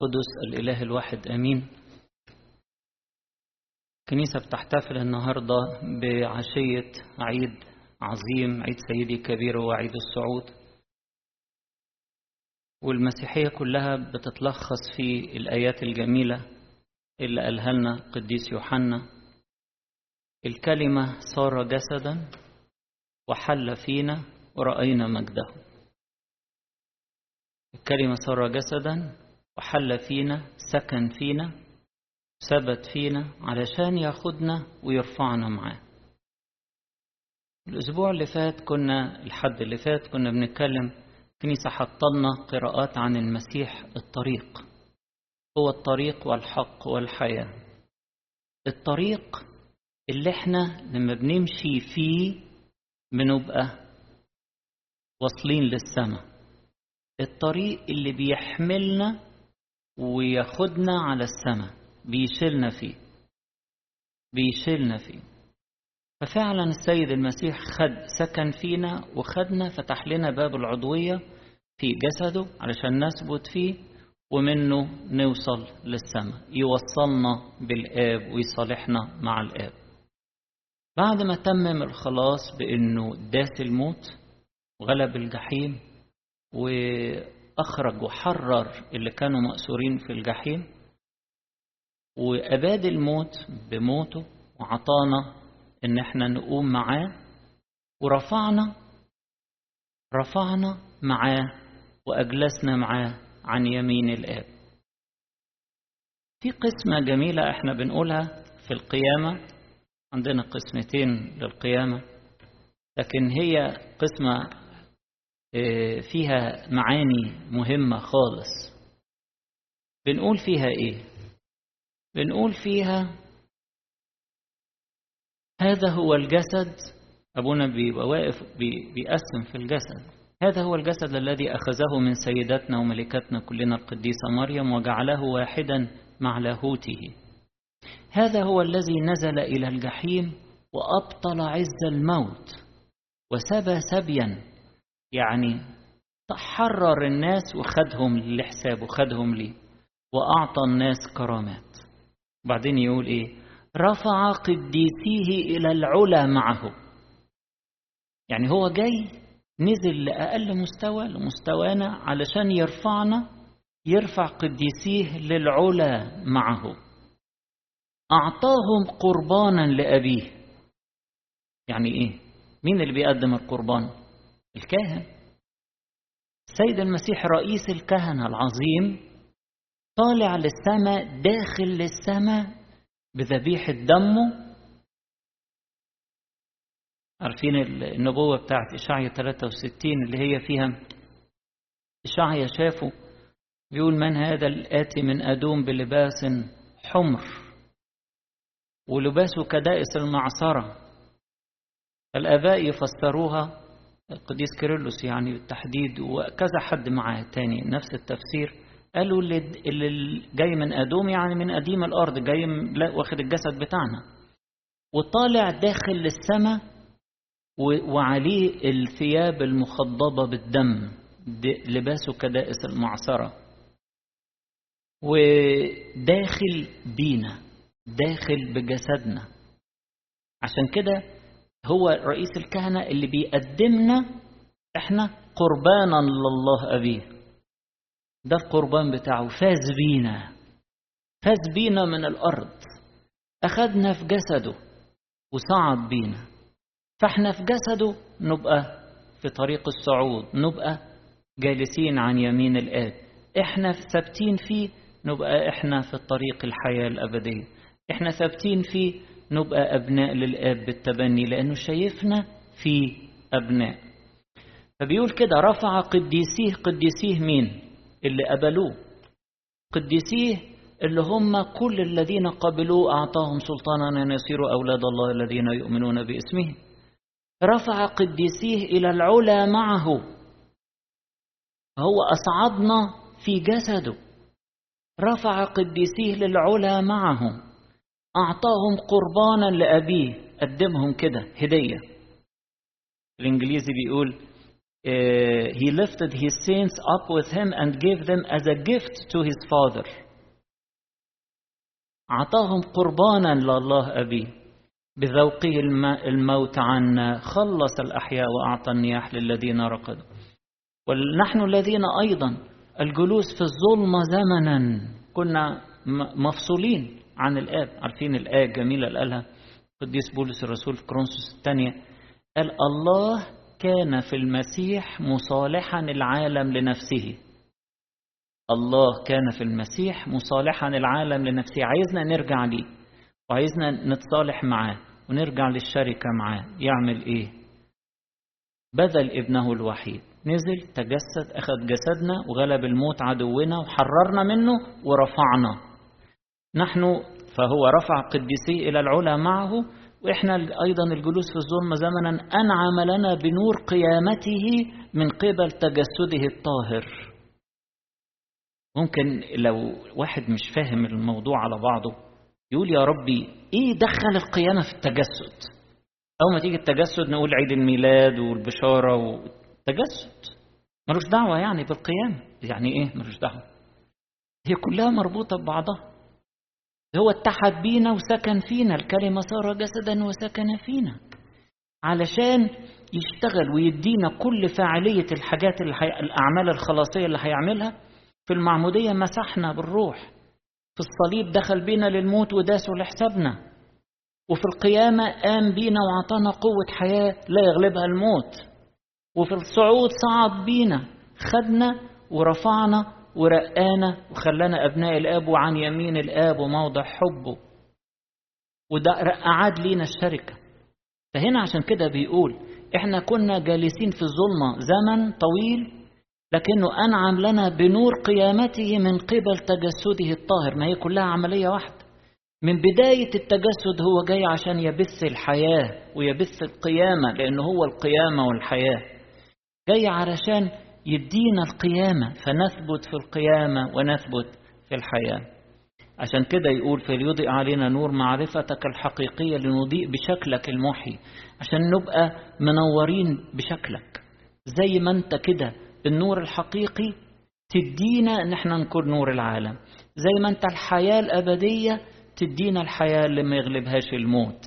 قدس الإله الواحد آمين. الكنيسة بتحتفل النهاردة بعشية عيد عظيم، عيد سيدي كبير وعيد الصعود، والمسيحية كلها بتتلخص في الآيات الجميلة اللي قالها لنا القديس يوحنا: الكلمة صار جسدا وحل فينا ورأينا مجده. الكلمة صار جسدا وحل فينا، سكن فينا، ثبت فينا علشان ياخدنا ويرفعنا معاه. الأسبوع اللي فات الحد اللي فات كنا بنتكلم، كنيسة حطلنا قراءات عن المسيح الطريق. هو الطريق والحق والحياة. الطريق اللي احنا لما بنمشي فيه بنبقى واصلين للسماء. الطريق اللي بيحملنا وياخدنا على السماء، بيشيلنا فيه. ففعلا السيد المسيح سكن فينا وخدنا، فتح لنا باب العضوية في جسده علشان نثبت فيه ومنه نوصل للسماء، يوصلنا بالآب ويصالحنا مع الآب. بعد ما تمم الخلاص بأنه داس الموت وغلب الجحيم وأخرج وحرر اللي كانوا مأسورين في الجحيم، وأباد الموت بموته وعطانا إن احنا نقوم معاه، ورفعنا معاه وأجلسنا معاه عن يمين الآب. في قسمة جميلة احنا بنقولها في القيامة، عندنا قسمتين للقيامة، لكن هي قسمة فيها معاني مهمة خالص. بنقول فيها ايه؟ بنقول فيها هذا هو الجسد. أبونا بيبقى واقف بيقسم في الجسد: هذا هو الجسد الذي أخذه من سيداتنا وملكتنا كلنا القديسة مريم وجعله واحدا مع لاهوته. هذا هو الذي نزل إلى الجحيم وأبطل عز الموت وسبى سبيا، يعني حرر الناس وخدهم لحسابه، خدهم ليه، وأعطى الناس كرامات. بعدين يقول إيه؟ رفع قديسيه إلى العلا معه. يعني هو جاي نزل لأقل مستوى لمستوانا علشان يرفعنا، يرفع قديسيه للعلا معه. أعطاهم قربانا لأبيه. يعني إيه؟ مين اللي بيقدم القربان؟ الكاهن. السيد المسيح رئيس الكهنة العظيم طالع للسماء، داخل للسماء بذبيحة دمه. عارفين النبوة بتاعت إشعيا 63 اللي هي فيها إشعيا شافه بيقول: من هذا الآتي من أدوم بلباس حمر ولباسه كدائس المعصرة. الآباء يفسروها، القديس كيرلس يعني بالتحديد وكذا حد معاه تاني نفس التفسير، قالوا اللي جاي من أدوم يعني من قديم الأرض، جاي واخد الجسد بتاعنا وطالع داخل للسماء، وعليه الثياب المخضبة بالدم، لباسه كدائس المعصرة، وداخل بينا، داخل بجسدنا. عشان كده هو رئيس الكهنة اللي بيقدمنا احنا قربانا لله أبيه. ده القربان بتاعه، فاز بينا من الأرض، أخدنا في جسده وصعد بينا. فاحنا في جسده نبقى في طريق الصعود، نبقى جالسين عن يمين الآب. احنا ثابتين فيه نبقى احنا في الطريق الحياة الأبدية. احنا ثابتين فيه نبقى أبناء للآب بالتبني، لأنه شايفنا في أبناء. فبيقول كده: رفع قديسيه مين؟ اللي قبلوه. قديسيه اللي هم كل الذين قبلوه أعطاهم سلطانا أن يصيروا أولاد الله الذين يؤمنون باسمه. رفع قديسيه إلى العلا معه. هو أصعدنا في جسده. رفع قديسيه للعلا معه. أعطاهم قربانا لأبيه، قدمهم كده هدية. الإنجليزي بيقول he lifted his saints up with him and gave them as a gift to his Father. أعطاهم قربانا لله أبيه بذوقه الموت عنا، خلص الأحياء وأعطى النياح للذين رقدوا. ونحن الذين أيضا الجلوس في الظلمة زمنا كنا مفصولين عن الآب. عارفين الآية الجميلة اللي قالها قديس بولس الرسول في كورنثوس الثانية، قال الله كان في المسيح مصالحا العالم لنفسه. الله كان في المسيح مصالحا العالم لنفسه، عايزنا نرجع ليه وعايزنا نتصالح معاه ونرجع للشركة معاه. يعمل ايه؟ بذل ابنه الوحيد، نزل تجسد، أخذ جسدنا وغلب الموت عدونا وحررنا منه ورفعنا نحن. فهو رفع قديسيه إلى العلا معه، وإحنا أيضا الجلوس في الظلمة زمنا أنعم لنا بنور قيامته من قبل تجسده الطاهر. ممكن لو واحد مش فاهم الموضوع على بعضه يقول يا ربي إيه دخل القيامة في التجسد؟ أول ما تيجي التجسد نقول عيد الميلاد والبشارة والتجسد، ملوش دعوة يعني بالقيامة. يعني إيه ملوش دعوة؟ هي كلها مربوطة ببعضها. هو اتحد بينا وسكن فينا، الكلمة صار جسدا وسكن فينا علشان يشتغل ويدينا كل فاعلية الحاجات الأعمال الخلاصية اللي هيعملها. في المعمودية مسحنا بالروح، في الصليب دخل بينا للموت وداسه لحسابنا، وفي القيامة قام بينا وعطانا قوة حياة لا يغلبها الموت، وفي الصعود صعد بينا خدنا ورفعنا ورقانا وخلانا أبناء الآب وعن يمين الآب وموضع حبه، وده أعاد لينا الشركة. فهنا عشان كده بيقول إحنا كنا جالسين في الظلمة زمن طويل، لكنه أنعم لنا بنور قيامته من قبل تجسده الطاهر. ما هي كلها عملية واحدة. من بداية التجسد هو جاي عشان يبث الحياة ويبث القيامة، لأنه هو القيامة والحياة. جاي علشان يدينا القيامة فنثبت في القيامة ونثبت في الحياة. عشان كده يقول فليضيء علينا نور معرفتك الحقيقية لنضيء بشكلك المحي، عشان نبقى منورين بشكلك زي ما انت كده. النور الحقيقي تدينا ان احنا نكون نور العالم، زي ما انت الحياة الأبدية تدينا الحياة اللي ما يغلبهاش الموت.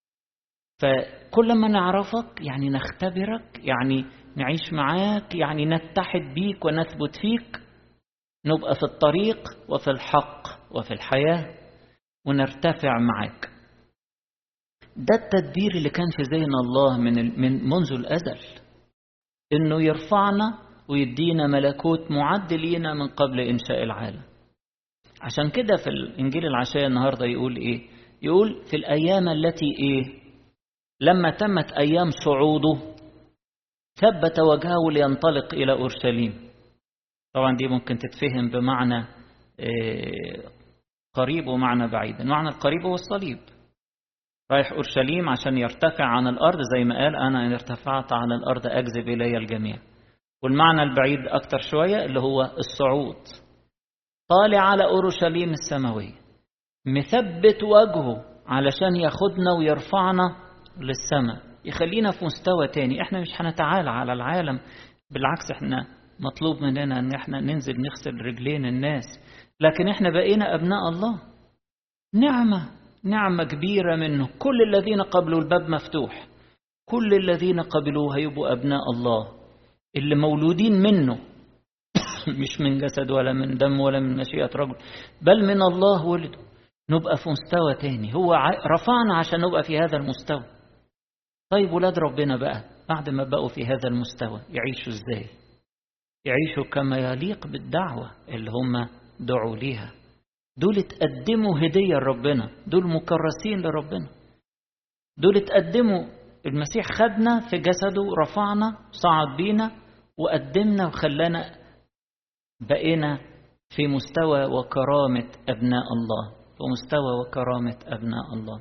فكل ما نعرفك يعني نختبرك، يعني نعيش معاك، يعني نتحد بيك ونثبت فيك، نبقى في الطريق وفي الحق وفي الحياة ونرتفع معاك. ده التدبير اللي كان في ذهن الله من منذ الأزل، إنه يرفعنا ويدينا ملكوت معد لينا من قبل إنشاء العالم. عشان كده في الإنجيل العشاء النهاردة يقول إيه؟ يقول في الأيام التي إيه؟ لما تمت أيام صعوده ثبت وجهه لينطلق إلى أورشليم. طبعا دي ممكن تتفهم بمعنى قريب ومعنى بعيد. المعنى القريب هو الصليب، رايح أورشليم عشان يرتفع عن الأرض، زي ما قال أنا إن ارتفعت عن الأرض أجذب إلي الجميع. والمعنى البعيد أكتر شوية اللي هو الصعود، طالع على أورشليم السماوية مثبت وجهه علشان ياخدنا ويرفعنا للسماء، يخلينا في مستوى تاني. احنا مش هنتعالى على العالم، بالعكس احنا مطلوب مننا ان احنا ننزل نغسل رجلين الناس، لكن احنا بقينا ابناء الله. نعمة كبيرة منه. كل الذين قبلوا الباب مفتوح، كل الذين قبلوه هيبقوا ابناء الله اللي مولودين منه مش من جسد ولا من دم ولا من مشيئة رجل، بل من الله ولده. نبقى في مستوى تاني، هو رفعنا عشان نبقى في هذا المستوى. طيب ولاد ربنا بقى بعد ما بقوا في هذا المستوى يعيشوا ازاي؟ يعيشوا كما يليق بالدعوة اللي هم دعوا ليها. دول اتقدموا هدية لربنا، دول مكرسين لربنا، دول اتقدموا. المسيح خدنا في جسده، رفعنا، صعد بينا وقدمنا وخلانا بقينا في مستوى وكرامة أبناء الله، في مستوى وكرامة أبناء الله.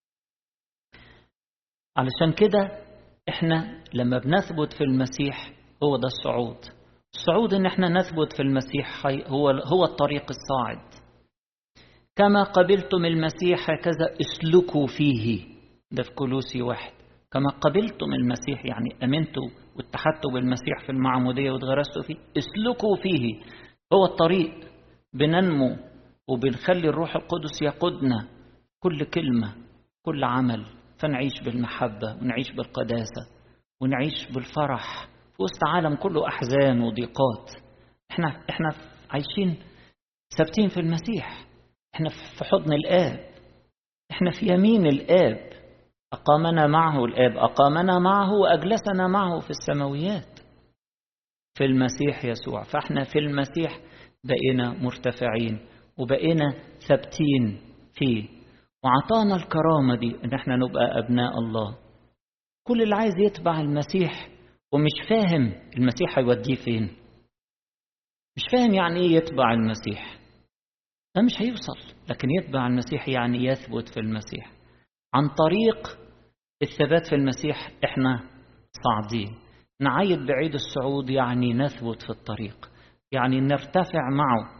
علشان كده احنا لما بنثبت في المسيح هو ده الصعود. الصعود ان احنا نثبت في المسيح هو الطريق الصاعد. كما قبلتم المسيح هكذا اسلكوا فيه، ده في كولوسي 1. كما قبلتم المسيح يعني امنتوا واتحدتوا بالمسيح في المعمودية واتغرستوا فيه، اسلكوا فيه. هو الطريق، بننمو وبنخلي الروح القدس يقودنا كل كلمة كل عمل، فنعيش بالمحبة ونعيش بالقداسة ونعيش بالفرح في وسط عالم كله أحزان وضيقات. احنا عايشين ثابتين في المسيح، احنا في حضن الآب، احنا في يمين الآب، أقامنا معه الآب، أقامنا معه وأجلسنا معه في السماويات في المسيح يسوع. فاحنا في المسيح بقينا مرتفعين وبقينا ثابتين فيه، وعطانا الكرامة دي ان احنا نبقى أبناء الله. كل اللي عايز يتبع المسيح ومش فاهم المسيح هيوديه فين، مش فاهم يعني ايه يتبع المسيح، ده مش هيوصل. لكن يتبع المسيح يعني يثبت في المسيح. عن طريق الثبات في المسيح احنا صاعدين. نعيد بعيد الصعود يعني نثبت في الطريق، يعني نرتفع معه،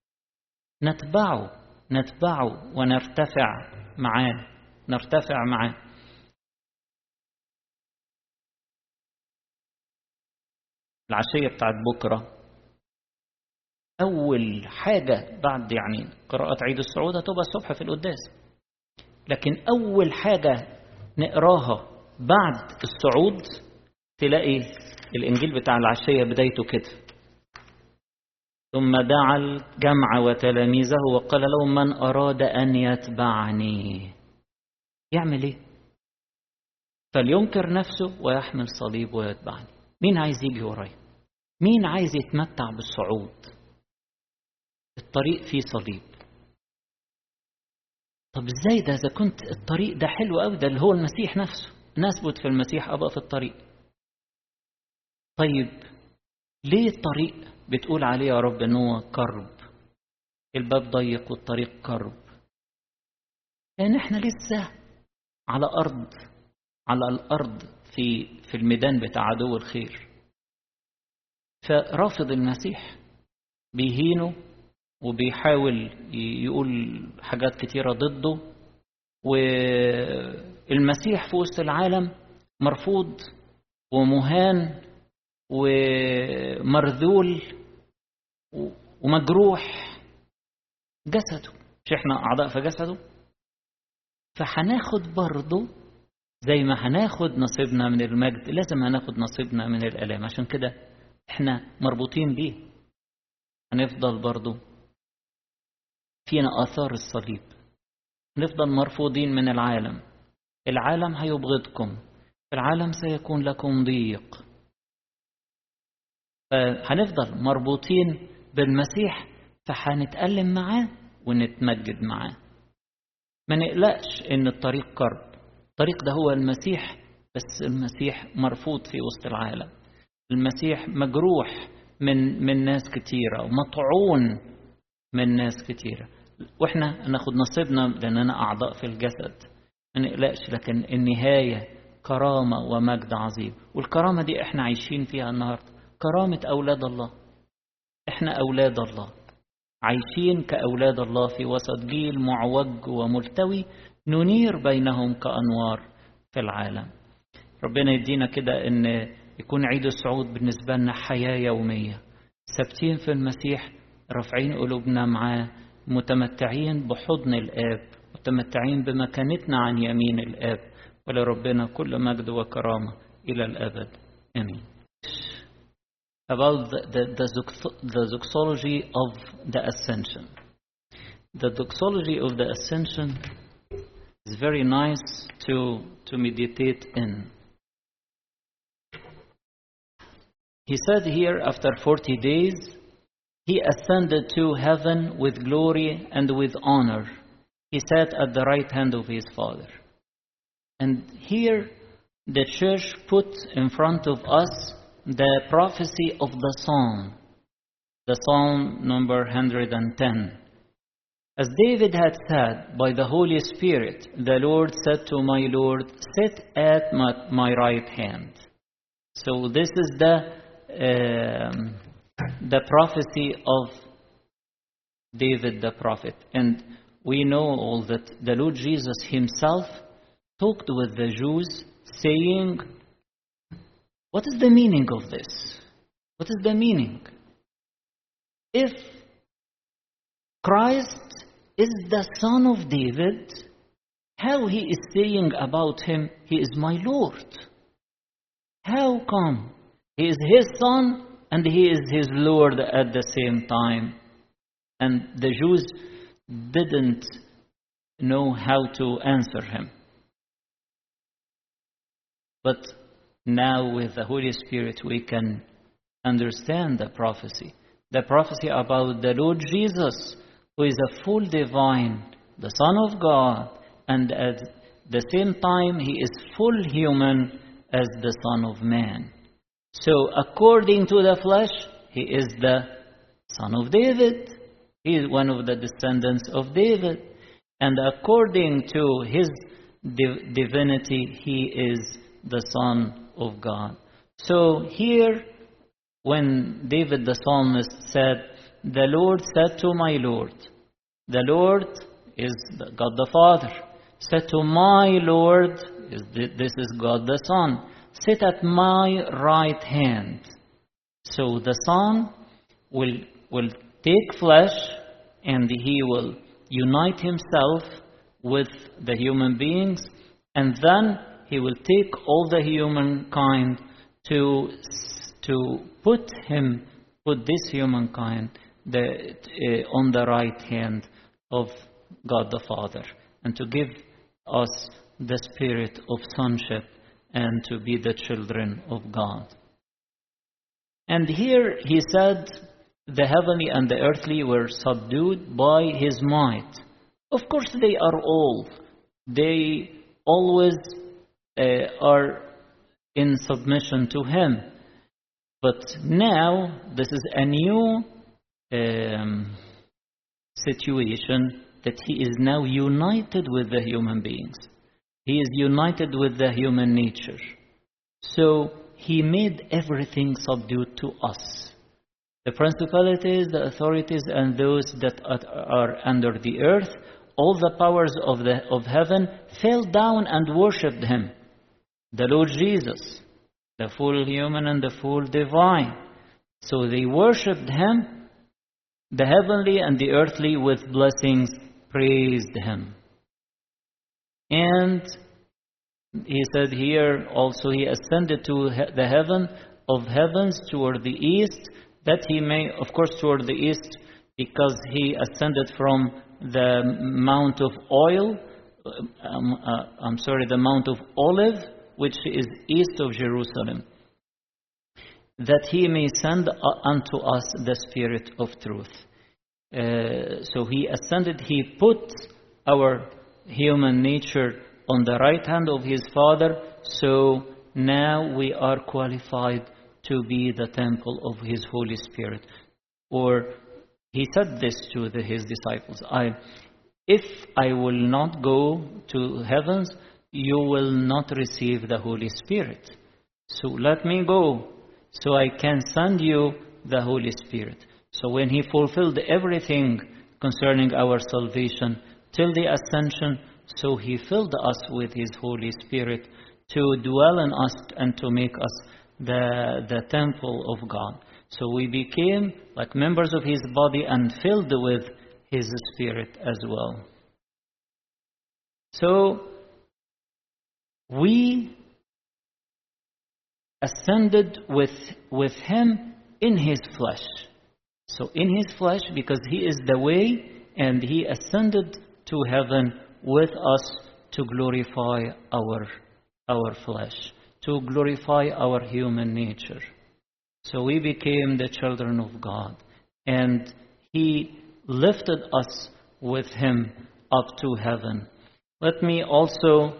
نتبعه ونرتفع معاه، نرتفع معاه. العشية بتاعت بكرة أول حاجة بعد يعني قراءة عيد الصعود هتبقى الصبح في القداس، لكن أول حاجة نقراها بعد الصعود تلاقي الإنجيل بتاع العشية بدايته كده: ثم دعا الجمع وتلاميذه وقال لهم من أراد أن يتبعني يعمل إيه؟ فلينكر نفسه ويحمل صليب ويتبعني. مين عايز يجي ورايا؟ مين عايز يتمتع بالصعود؟ الطريق فيه صليب. طب ازاي ده؟ اذا كنت الطريق ده حلو قوي، ده اللي هو المسيح نفسه، نثبت في المسيح ابقى في الطريق. طيب ليه الطريق بتقول عليه يا رب ان هو كرب؟ الباب ضيق والطريق كرب، لان احنا لسه على الارض في الميدان بتاع عدو الخير. فرافض المسيح، بيهينه وبيحاول يقول حاجات كتيرة ضده، والمسيح في وسط العالم مرفوض ومهان ومرذول ومجروح جسده، مش احنا أعضاء في جسده؟ فهناخد برضه زي ما هناخد نصيبنا من المجد لازم هناخد نصيبنا من الآلام. عشان كده احنا مربوطين بيه، هنفضل برضه فينا آثار الصليب، نفضل مرفوضين من العالم. العالم هيبغضكم، العالم سيكون لكم ضيق. هنفضل مربوطين بالمسيح، فهنتألم معاه ونتمجد معاه. ما نقلقش ان الطريق قرب، الطريق ده هو المسيح، بس المسيح مرفوض في وسط العالم، المسيح مجروح من ناس كتيرة ومطعون من ناس كتيرة، واحنا ناخد نصيبنا لأننا أعضاء في الجسد. ما نقلقش، لكن النهاية كرامة ومجد عظيم، والكرامة دي احنا عايشين فيها النهاردة، كرامة أولاد الله. احنا أولاد الله، عايشين كأولاد الله في وسط جيل معوج وملتوي، ننير بينهم كأنوار في العالم. ربنا يدينا كده ان يكون عيد الصعود بالنسبة لنا حياة يومية، ثابتين في المسيح، رافعين قلوبنا معاه، متمتعين بحضن الآب، متمتعين بمكانتنا عن يمين الآب. ولربنا كل مجد وكرامة إلى الأبد آمين. About the doxology of the Ascension. The doxology of the Ascension is very nice to meditate in. He said here, after 40 days, he ascended to heaven with glory and with honor. He sat at the right hand of his Father. And here the church put in front of us the prophecy of the Psalm number 110. As David had said, by the Holy Spirit, the Lord said to my Lord, sit at my right hand. So this is the prophecy of David the prophet. And we know all that the Lord Jesus himself talked with the Jews, saying, What is the meaning of this? What is the meaning? If Christ is the Son of David, how he is saying about him, he is my Lord? How come? He is his Son and he is his Lord at the same time. And the Jews didn't know how to answer him. But now with the Holy Spirit we can understand the prophecy. The prophecy about the Lord Jesus, who is a full divine, the Son of God, and at the same time he is full human as the Son of Man. So according to the flesh, he is the Son of David. He is one of the descendants of David. And according to his divinity, he is the Son of God. So here, when David the psalmist said, "The Lord said to my Lord," the Lord is God the Father, said to my Lord, this is God the Son, "Sit at my right hand." So the Son will take flesh and he will unite himself with the human beings, and then he will take all the humankind to put this humankind on the right hand of God the Father, and to give us the spirit of sonship and to be the children of God. And here he said, the heavenly and the earthly were subdued by his might. Of course they are all. They always are in submission to him. But now this is a new situation, that he is now united with the human beings. He is united with the human nature. So he made everything subdued to us. The principalities, the authorities, and those that are under the earth, all the powers of heaven fell down and worshipped him. The Lord Jesus, the full human and the full divine. So they worshipped him, the heavenly and the earthly with blessings praised him. And he said here also, he ascended to the heaven of heavens toward the east, that he may, of course, toward the east, because he ascended from the Mount of the Mount of Olive, which is east of Jerusalem, that he may send unto us the Spirit of truth. So he ascended, he put our human nature on the right hand of his Father, so now we are qualified to be the temple of his Holy Spirit. Or he said this to his disciples, if I will not go to heavens, you will not receive the Holy Spirit. So let me go, so I can send you the Holy Spirit. So when he fulfilled everything concerning our salvation till the ascension, so he filled us with his Holy Spirit to dwell in us and to make us the temple of God. So we became like members of his body and filled with his Spirit as well. So we ascended with him in his flesh. So in his flesh, because he is the way, and he ascended to heaven with us to glorify our flesh, to glorify our human nature. So we became the children of God, and he lifted us with him up to heaven. Let me also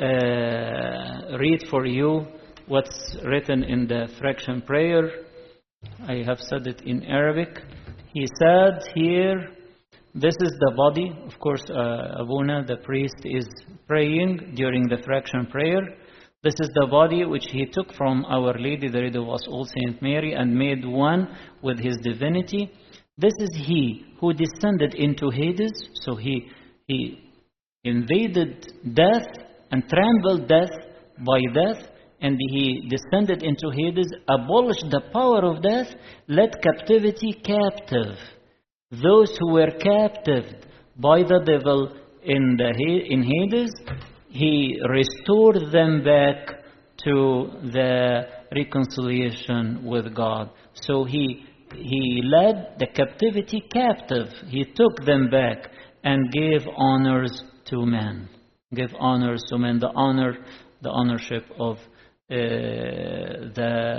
read for you what's written in the fraction prayer. I have said it in Arabic. He said here, this is the body. Of course, Abuna, the priest, is praying during the fraction prayer. This is the body which he took from Our Lady, the Lady of us all, Saint Mary, and made one with his divinity. This is he who descended into Hades. So he invaded death and trampled death by death, and he descended into Hades, abolished the power of death, led captivity captive. Those who were captive by the devil in Hades, he restored them back to the reconciliation with God. So he led the captivity captive. He took them back and gave honors to men. Give honors to men, the ownership of being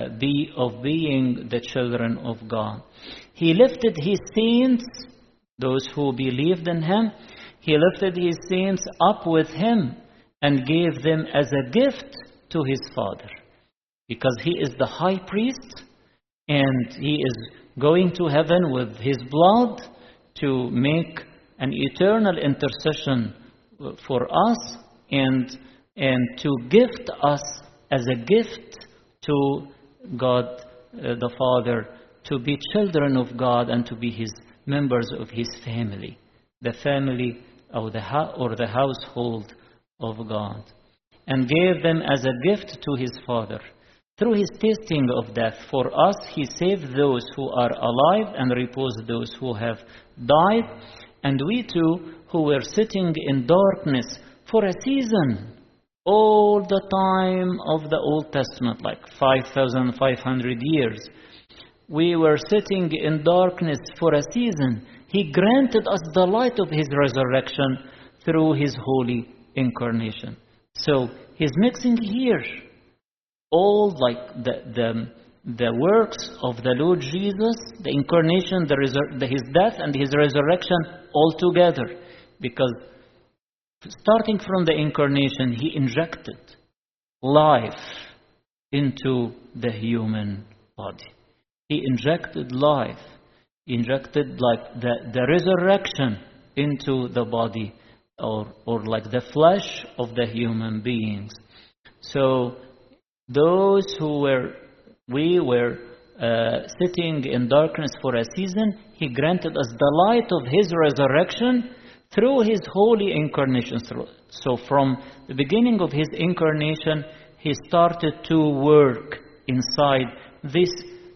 the children of God. He lifted his saints, those who believed in him. He lifted his saints up with him and gave them as a gift to his Father, because he is the high priest and he is going to heaven with his blood to make an eternal intercession for us and to gift us as a gift to God the Father, to be children of God and to be his members of his family, the family of the household of God, and gave them as a gift to his Father. Through his tasting of death for us, he saved those who are alive and reposed those who have died. And we too, who were sitting in darkness for a season, all the time of the Old Testament, like 5,500 years, we were sitting in darkness for a season. He granted us the light of his resurrection through his holy incarnation. So he's mixing here all like the works of the Lord Jesus, the incarnation, his death and his resurrection all together. Because starting from the incarnation, he injected life into the human body. He injected life. He injected like the resurrection into the body, or like the flesh of the human beings. So those we were sitting in darkness for a season, he granted us the light of his resurrection through his holy incarnation. So from the beginning of his incarnation, he started to work inside this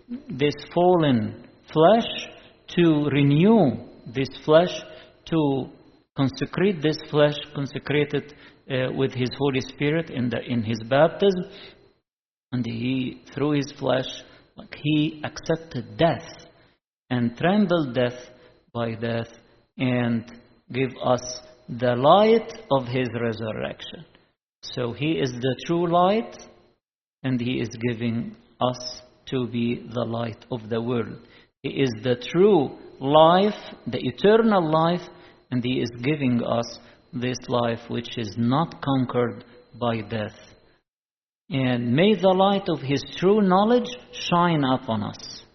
fallen flesh, to renew this flesh, to consecrate this flesh, consecrate it with his Holy Spirit in his baptism. And he, through his flesh, he accepted death and trembled death by death and gave us the light of his resurrection. So he is the true light, and he is giving us to be the light of the world. He is the true life, the eternal life, and he is giving us this life which is not conquered by death. And may the light of his true knowledge shine upon us.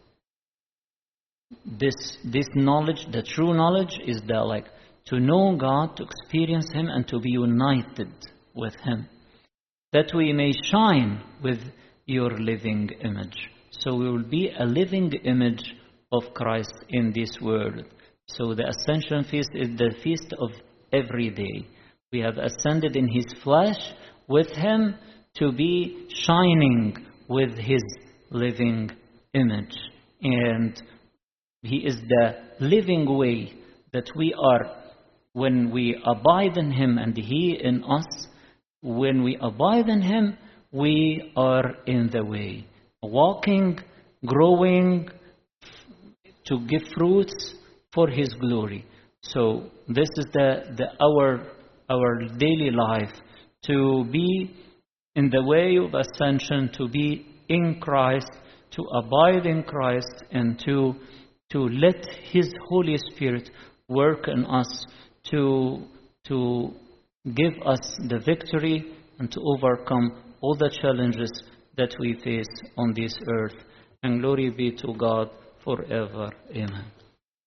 This knowledge, the true knowledge, is to know God, to experience him, and to be united with him, that we may shine with your living image. So we will be a living image of Christ in this world. So the Ascension Feast is the feast of every day. We have ascended in his flesh with him to be shining with his living image. And he is the living way that we are when we abide in him and he in us. When we abide in him, we are in the way, walking, growing, to give fruits for his glory. So this is our daily life, to be in the way of ascension, to be in Christ, to abide in Christ, and to let his Holy Spirit work in us to give us the victory and to overcome all the challenges that we face on this earth. And glory be to God forever. Amen.